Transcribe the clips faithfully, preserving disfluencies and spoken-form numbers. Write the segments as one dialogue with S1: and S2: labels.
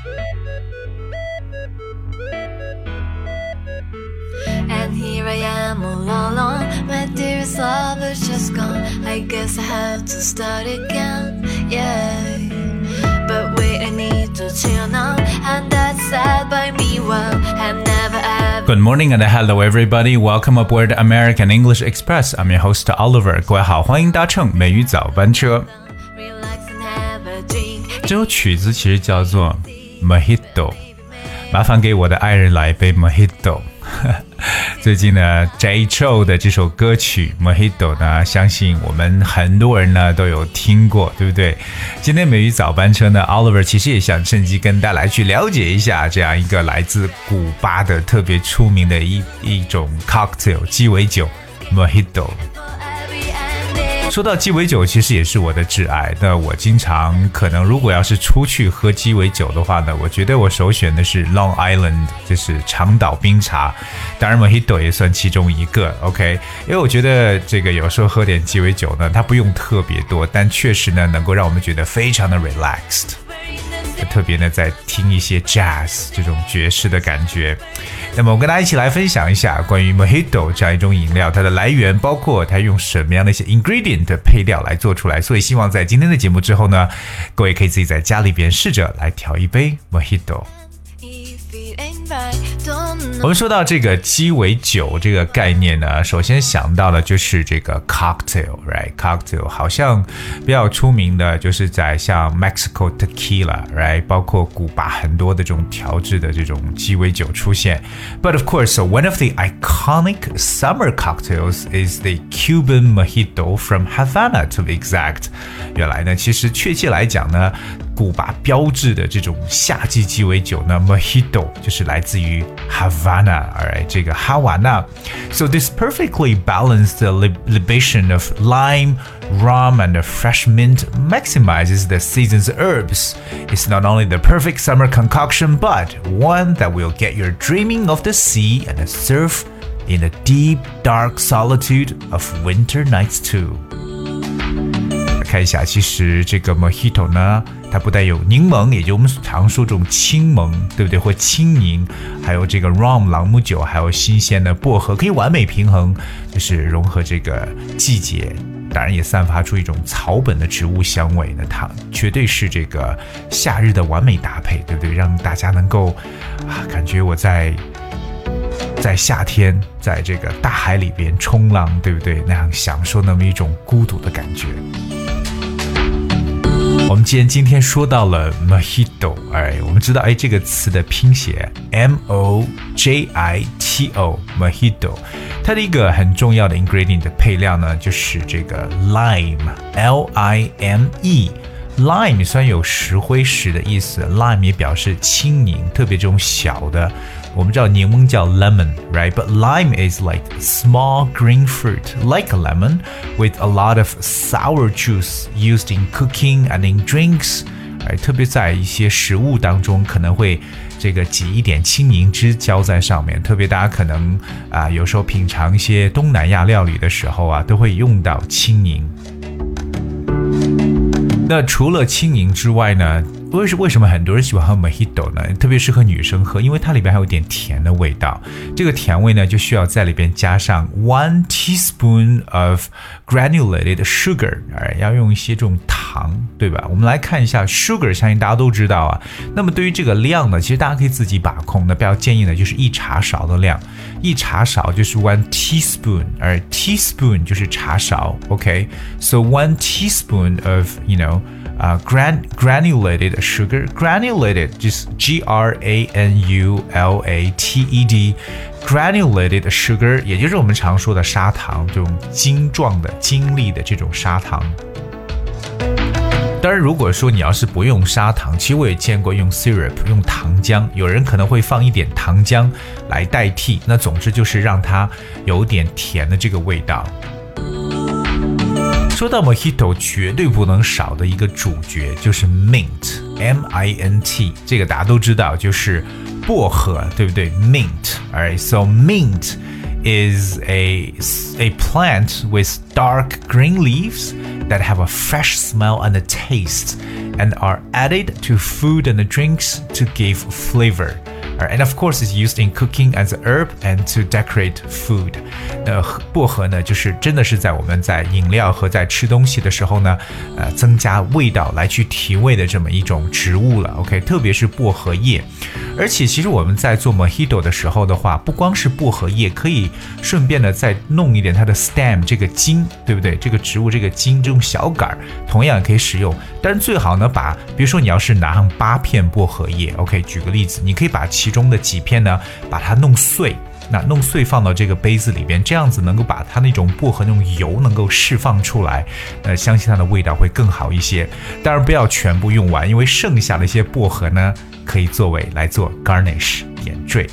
S1: And here I am all alone, my dearest love is just gone. I guess I have to start again, yeah. But wait, I need to chill now, and that's sad by me. Well, I'm never ever.
S2: Good morning and hello everybody. Welcome aboard American English Express. I'm your host Oliver. 各位好，欢迎搭乘美语早班车。这首曲子其实叫做 Mojito， 麻烦给我的爱人来一杯 Mojito。最近呢 Jay Chou 的这首歌曲 Mojito 呢，相信我们很多人呢都有听过，对不对？今天美语早班车呢 Oliver 其实也想趁机跟大家来去了解一下这样一个来自古巴的特别出名的一一种 cocktail 鸡尾酒 Mojito。说到鸡尾酒其实也是我的挚爱，那我经常可能如果要是出去喝鸡尾酒的话呢，我觉得我首选的是 Long Island， 就是长岛冰茶，当然 Mojito 也算其中一个 OK， 因为我觉得这个有时候喝点鸡尾酒呢，它不用特别多，但确实呢能够让我们觉得非常的 relaxed， 特别呢在听一些 jazz 这种爵士的感觉。那么我跟大家一起来分享一下关于 Mojito 这样一种饮料，它的来源，包括它用什么样的一些 ingredient 的配料来做出来，所以希望在今天的节目之后呢，各位可以自己在家里边试着来调一杯 Mojito。我们说到这个鸡尾酒这个概念呢，首先想到的就是这个 cocktail， right？ cocktail 好像比较出名的就是在像 Mexico tequila， right？ 包括古巴很多的这种调制的这种鸡尾酒出现。But of course, so one of the iconic summer cocktails is the Cuban mojito from Havana, to be exact。原来呢，其实确切来讲呢，古巴标志的这种夏季鸡尾酒呢 Mojito 就是来自于 Havana， alright， 这个哈瓦那。So this perfectly balanced libation of lime, rum and fresh mint maximizes the season's herbs. It's not only the perfect summer concoction, but one that will get you dreaming of the sea and the surf in the deep, dark solitude of winter nights too.看一下，其实这个 Mojito 呢，它不但有柠檬，也就我们常说这种青檬，对不对？或青柠，还有这个 rum 朗姆酒，还有新鲜的薄荷，可以完美平衡，就是融合这个季节，当然也散发出一种草本的植物香味。那它绝对是这个夏日的完美搭配，对不对？让大家能够啊，感觉我在。在夏天在这个大海里边冲浪，对不对？那样享受那么一种孤独的感觉。我们既然今天说到了 Mojito， 哎，我们知道哎这个词的拼写 M O J I T O Mojito， 它的一个很重要的 ingredient 的配料呢，就是这个 lime L I M E。Lime 虽然有石灰石的意思， lime 也表示青柠，特别这种小的，我们知道柠檬叫 lemon, right? But lime is like small green fruit, like a lemon, with a lot of sour juice used in cooking and in drinks. 特别在一些食物当中可能会这个挤一点青柠汁浇在上面，特别大家可能啊、呃、有时候品尝一些东南亚料理的时候啊，都会用到青柠。那除了青柠之外呢，为什为什么很多人喜欢喝 Mojito 呢？特别适合女生喝，因为它里边还有点甜的味道。这个甜味呢，就需要在里边加上 one teaspoon of granulated sugar， 要用一些这种糖，对吧？我们来看一下 sugar， 相信大家都知道啊。那么对于这个量呢，其实大家可以自己把控的，比较建议呢就是一茶勺的量，一茶勺就是 one teaspoon， 而 teaspoon 就是茶勺 ，OK？So one teaspoon of you know。Uh, gran- granulated sugar, granulated 就是 G R A N U L A T E D granulated sugar 也就是我们常说的砂糖，这种晶状的晶粒的这种砂糖。当然如果说你要是不用砂糖，其实我也见过用 syrup 用糖浆，有人可能会放一点糖浆来代替，那总之就是让它有点甜的这个味道。说到 Mojito 绝对不能少的一个主角就是 mint M I N T， 这个大家都知道就是薄荷，对不对？ Mint alright, so mint is a, a plant with dark green leaves that have a fresh smell and a taste and are added to food and drinks to give flavor. And of course, it's used in cooking as an herb and to decorate food. 那薄荷呢，就是真的是在我们在饮料和在吃东西的时候呢，呃，增加味道来去提味的这么一种植物了。OK， 特别是薄荷叶。而且其实我们在做 Mojito 的时候的话，不光是薄荷叶，可以顺便的再弄一点它的 stem 这个茎，对不对？这个植物这个茎这种小杆，同样也可以使用。但是最好呢，把比如说你要是拿上八片薄荷叶 ，OK， 举个例子，你可以把其中的几片呢，把它弄碎。那弄碎放到这个杯子里边，这样子能够把它那种薄荷那种油能够释放出来，呃，相信它的味道会更好一些。当然不要全部用完，因为剩下的一些薄荷呢，可以作为来做 garnish 点缀。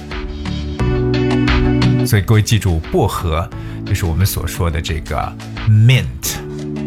S2: 所以各位记住，薄荷就是我们所说的这个 mint。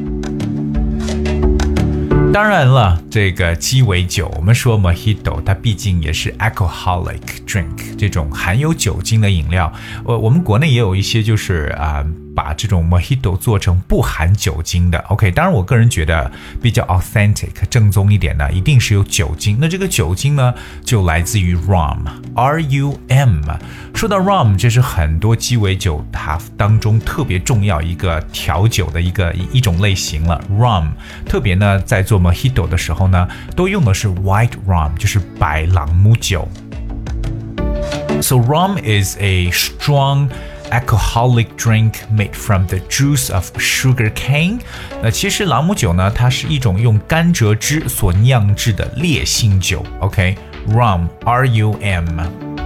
S2: 当然了，这个鸡尾酒，我们说 Mojito， 它毕竟也是 alcoholic drink， 这种含有酒精的饮料。我我们国内也有一些就是啊、呃，把这种 Mojito 做成不含酒精的。OK， 当然我个人觉得比较 authentic 正宗一点呢，一定是有酒精。那这个酒精呢，就来自于 rum，R U M。说到 rum， 这是很多鸡尾酒它当中特别重要一个调酒的一个一种类型了。rum， 特别呢在做 Mojito 的时候呢，都用的是 white rum， 就是白朗姆酒。So rum is a strong alcoholic drink made from the juice of sugar cane。 那其实朗姆酒呢，它是一种用甘蔗汁所酿制的烈性酒。 OK， rum R U M。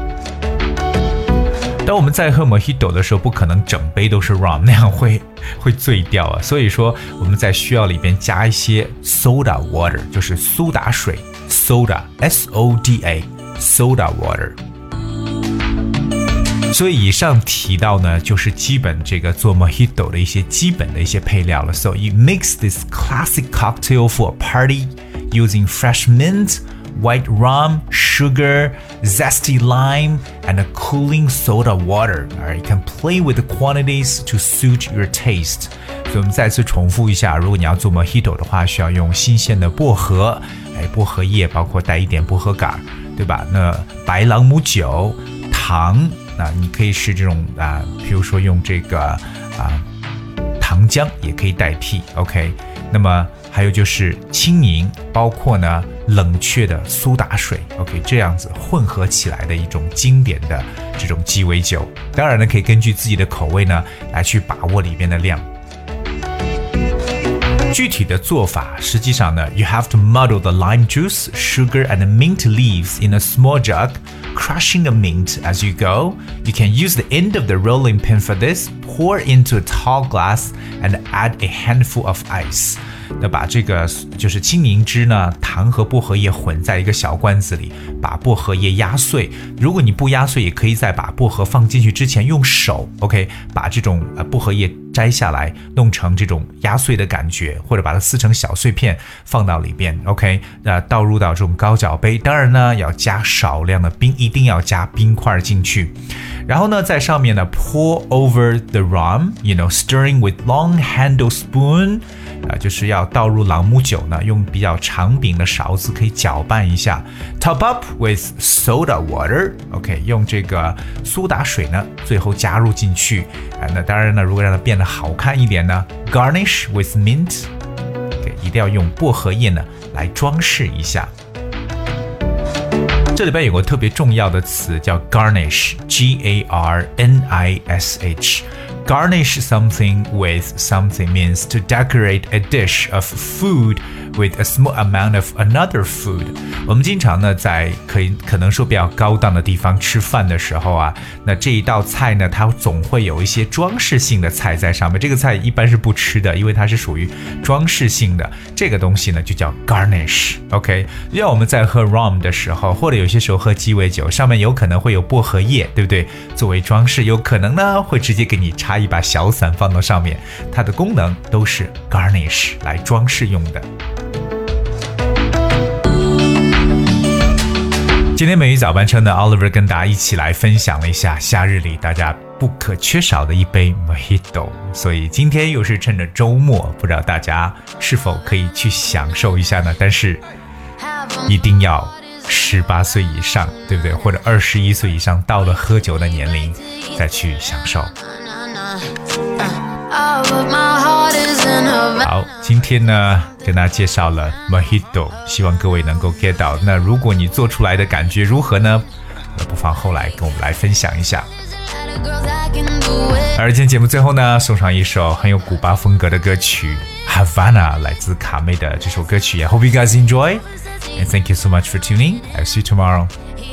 S2: 当我们在喝 Mojito 的时候，不可能整杯都是 rum， 那样会会醉掉啊。所以说我们在需要里边加一些 soda water， 就是苏打水 soda S O D A soda water。所以以上提到呢，就是基本这个做 Mojito 的一些基本的一些配料了。So you mix this classic cocktail for a party using fresh mint, white rum, sugar, zesty lime, and a cooling soda water. Alright, you can play with the quantities to suit your taste. 所以我们再次重复一下，如果你要做 Mojito 的话，需要用新鲜的薄荷，哎，薄荷叶包括带一点薄荷杆，对吧？那白朗姆酒、糖。那你可以是这种啊，比如说用这个啊糖浆也可以代替 ，OK。那么还有就是青柠，包括呢冷却的苏打水 ，OK， 这样子混合起来的一种经典的这种鸡尾酒。当然呢，可以根据自己的口味呢来去把握里边的量。具体的做法，实际上呢 ，you have to muddle the lime juice, sugar, and mint leaves in a small jug, crushing the mint as you go. You can use the end of the rolling pin for this. Pour into a tall glass and add a handful of ice. 那把这个就是青柠汁呢，糖和薄荷叶混在一个小罐子里，把薄荷叶压碎。如果你不压碎，也可以在把薄荷放进去之前用手 ，OK， 把这种呃薄荷叶摘下来，弄成这种压碎的感觉，或者把它撕成小碎片放到里边 ，OK， 那倒入到这种高脚杯。当然呢，要加少量的冰，一定要加冰块进去。然后呢，在上面呢 pour over the rum, you know, stirring with long handle spoon， 啊、呃，就是要倒入朗姆酒呢，用比较长柄的勺子可以搅拌一下。Top up with soda water， OK， 用这个苏打水呢，最后加入进去。啊、呃，那当然呢，如果让它变得好看一点呢 ，garnish with mint， OK， 一定要用薄荷叶呢来装饰一下。这里边有个特别重要的词叫 garnish, G A R N I S H. Garnish something with something means to decorate a dish of food with a small amount of another food. 我们经常呢在可以可能说比较高档的地方吃饭的时候啊，那这一道菜呢，它总会有一些装饰性的菜在上面。这个菜一般是不吃的，因为它是属于装饰性的。这个东西呢就叫 garnish。OK， 要我们在喝 rum 的时候，或者有些时候喝鸡尾酒，上面有可能会有薄荷叶，对不对？作为装饰，有可能呢会直接给你插一把小伞放到上面，它的功能都是 garnish 来装饰用的。今天美语早班车呢 Oliver 跟大家一起来分享了一下夏日里大家不可缺少的一杯 Mojito。所以今天又是趁着周末，不知道大家是否可以去享受一下呢？但是一定要十八岁以上，对不对？或者二十一岁以上，到了喝酒的年龄再去享受。好，今天呢跟大家介绍了 Mojito， 希望各位能够 get 到。那如果你做出来的感觉如何呢？那不妨后来跟我们来分享一下。而今天节目最后呢，送上一首很有古巴风格的歌曲 Havana， 来自卡妹的这首歌曲。I hope you guys enjoy and thank you so much for tuning. I'll see you tomorrow.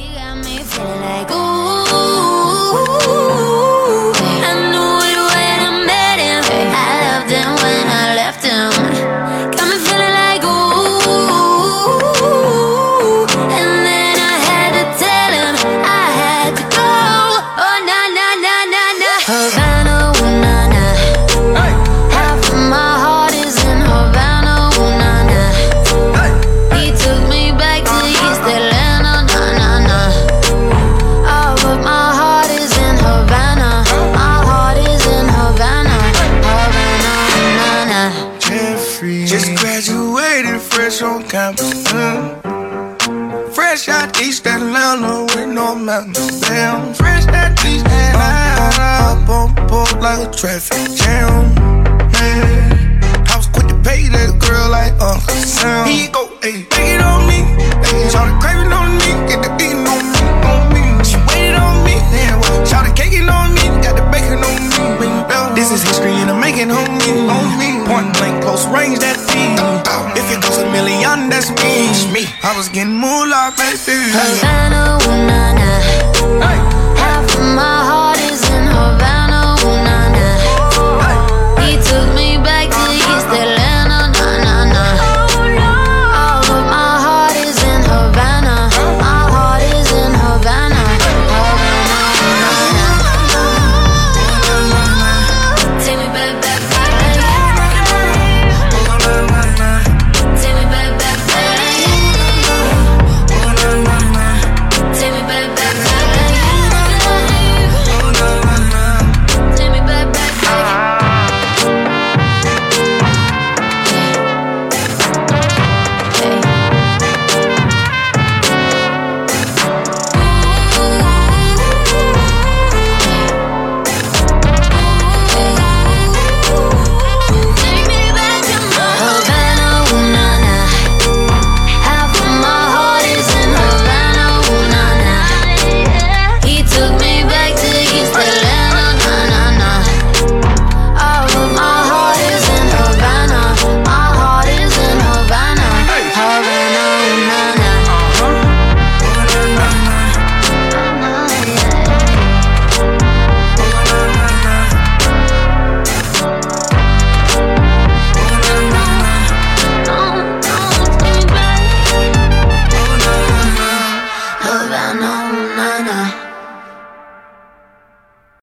S3: Fresh on campus, mm. Fresh out East Atlanta with no mountains, damn. Fresh out East Atlanta, up on board like a traffic jam, man. I was quick to pay that girl like Uncle Sam. He go, ayy, take it on me, ayy. Shout the craving on me, get the beating on me, on me. She waited on me, damn. Shout the caking on me, got the bacon on me. This is history and I'm making on me, on me. Point blank, close range, that beat. If it goes a million, that's me. I was getting moolah, baby.
S1: Havana, ooh, nah, nah.